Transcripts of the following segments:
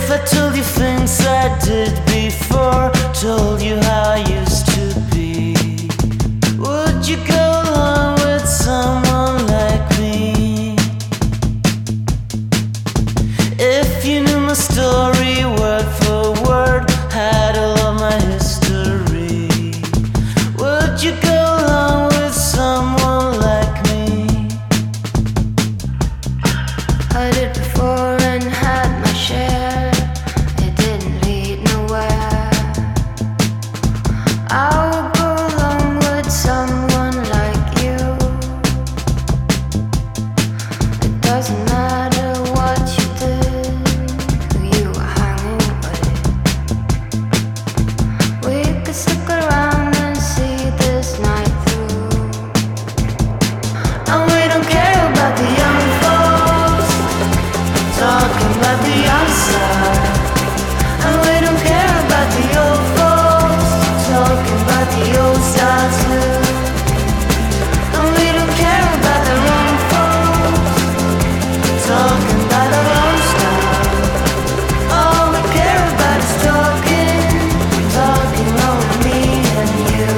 I told you things I did before, told you how I used to be, would you go along with someone like me? If you knew my story word for word, had all of my history, would you go along with someone like me? I did before and had my share. It didn't lead nowhere. I would go along with someone like you. It doesn't matter what you did, who you were hanging with. We could stick around and see this night through. And we don't care about the young folks talking about the outside, and we don't care about the old folks talking about the old style too. And we don't care about the wrong folks talking about our own style. All we care about is talking, talking over me and you.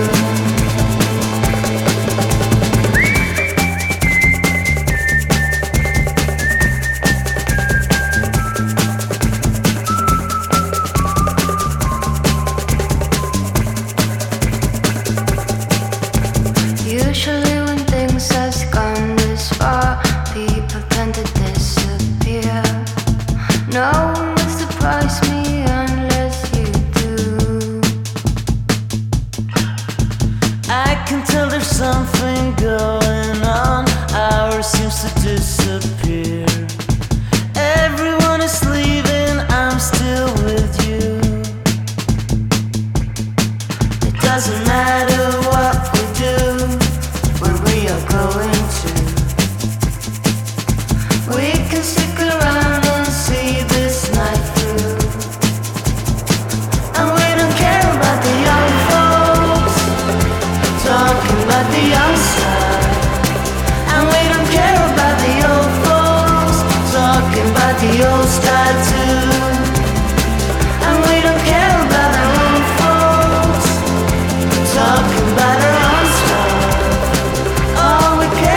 Usually when things has gone this far, people tend to disappear. No one will surprise me unless you do. I can tell there's something going on, ours seems to disappear. Everyone is leaving, I'm still with you. It doesn't matter what we do, where we are going to. We can stick around and see this night through. And we don't care about the young folks talking about the outside, and we don't care about the old folks talking about the old style too. And we don't care about our own folks talking about our own stuff. All we care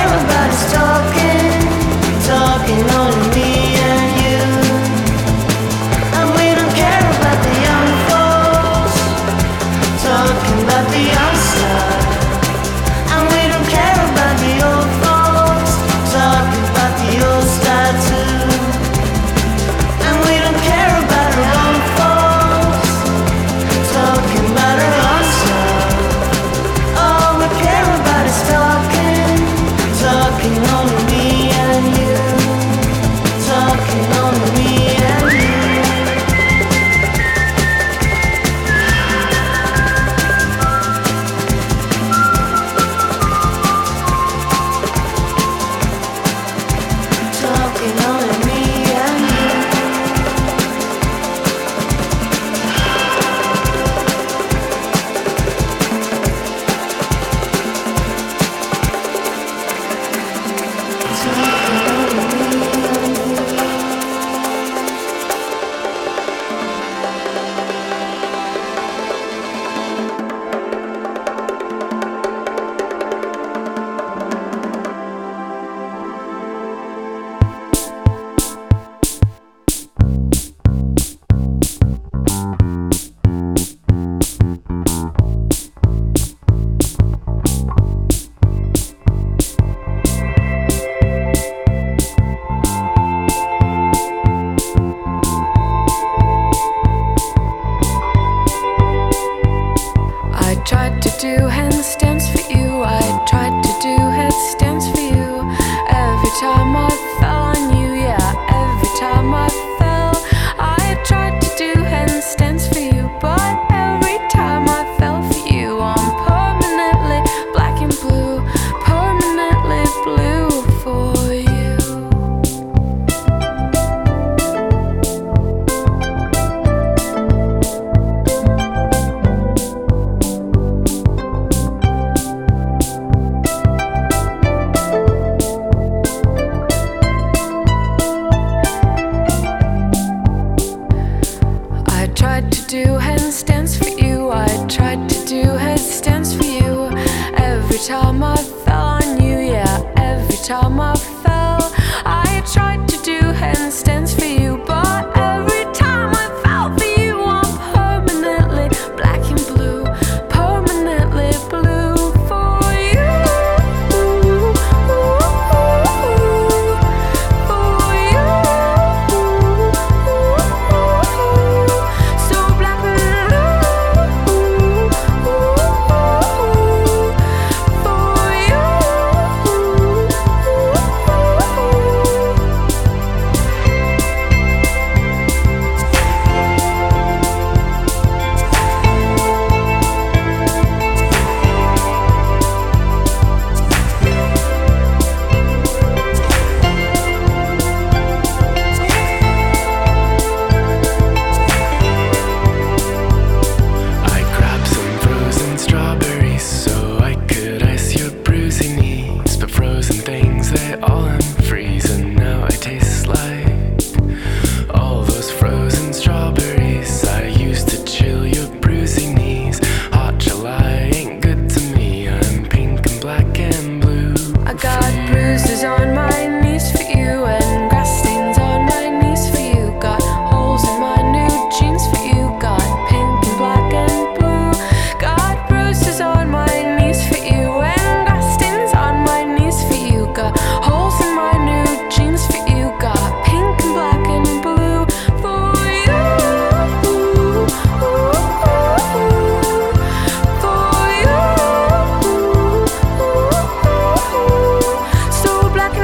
all I'm freezing now. It tastes like all those frozen strawberries I used to chill your bruising knees. Hot July ain't good to me. I'm pink and black and blue. I got bruises on my knees for you and grass stains on my knees for you. Got holes in my new jeans for you. Got pink and black and blue. Got bruises on my knees for you and grass stains on my knees for you. Got holes in my new jeans for you. Got pink and black and blue for you. For you. So black and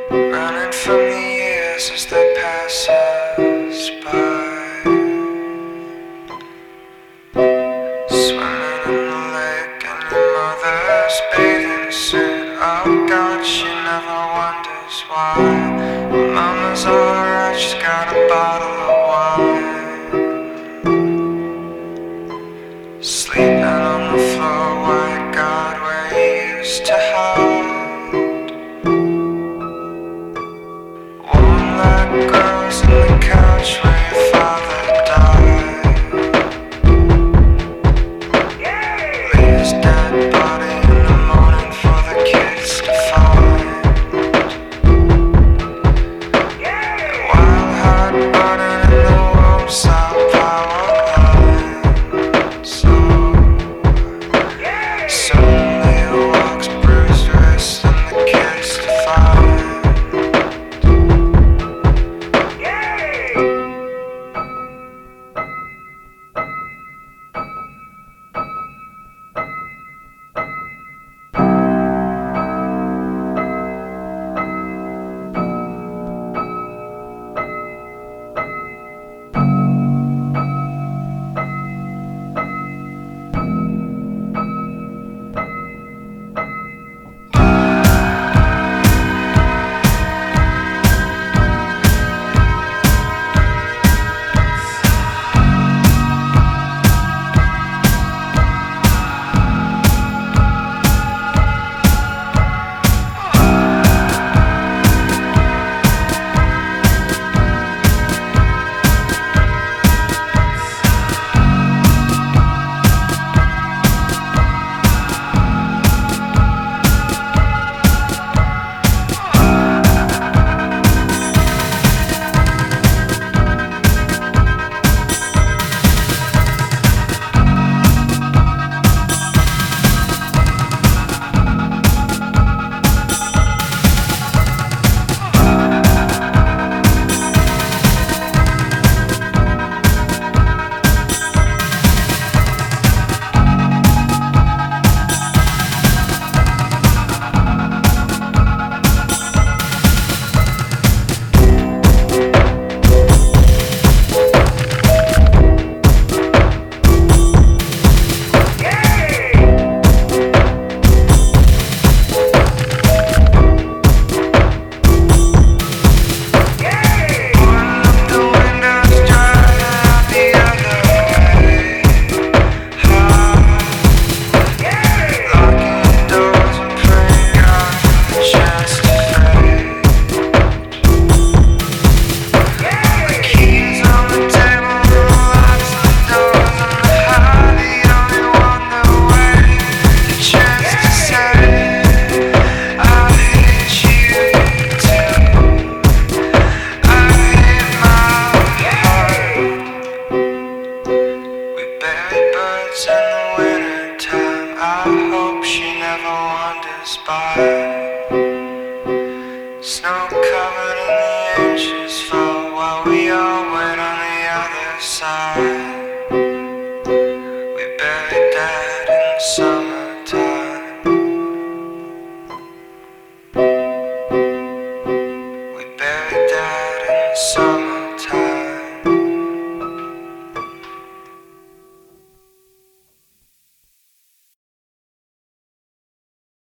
running from the years as they pass us by, swimming in the lake and your mother's bathing suit. Oh God, she never wonders why. Well, Mama's alright, she's got a bottle of wine, sleeping on the floor. Why God, where you used to hide? Warm like girls in the couch where your father died. Leave his dead body in the morning for the kids to find. Wild heart burning in the warm South power line. So suddenly it walks, bruised wrist and the kids to find. Snow covered in the inches fall while we all wait on the other side.